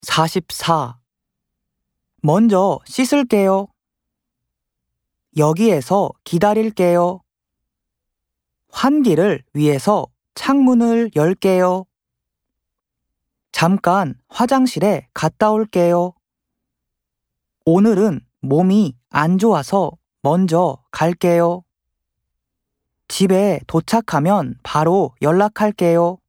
44. 먼저 씻을게요. 여기에서 기다릴게요. 환기를 위해서 창문을 열게요. 잠깐 화장실에 갔다 올게요. 오늘은 몸이 안 좋아서 먼저 갈게요. 집에 도착하면 바로 연락할게요.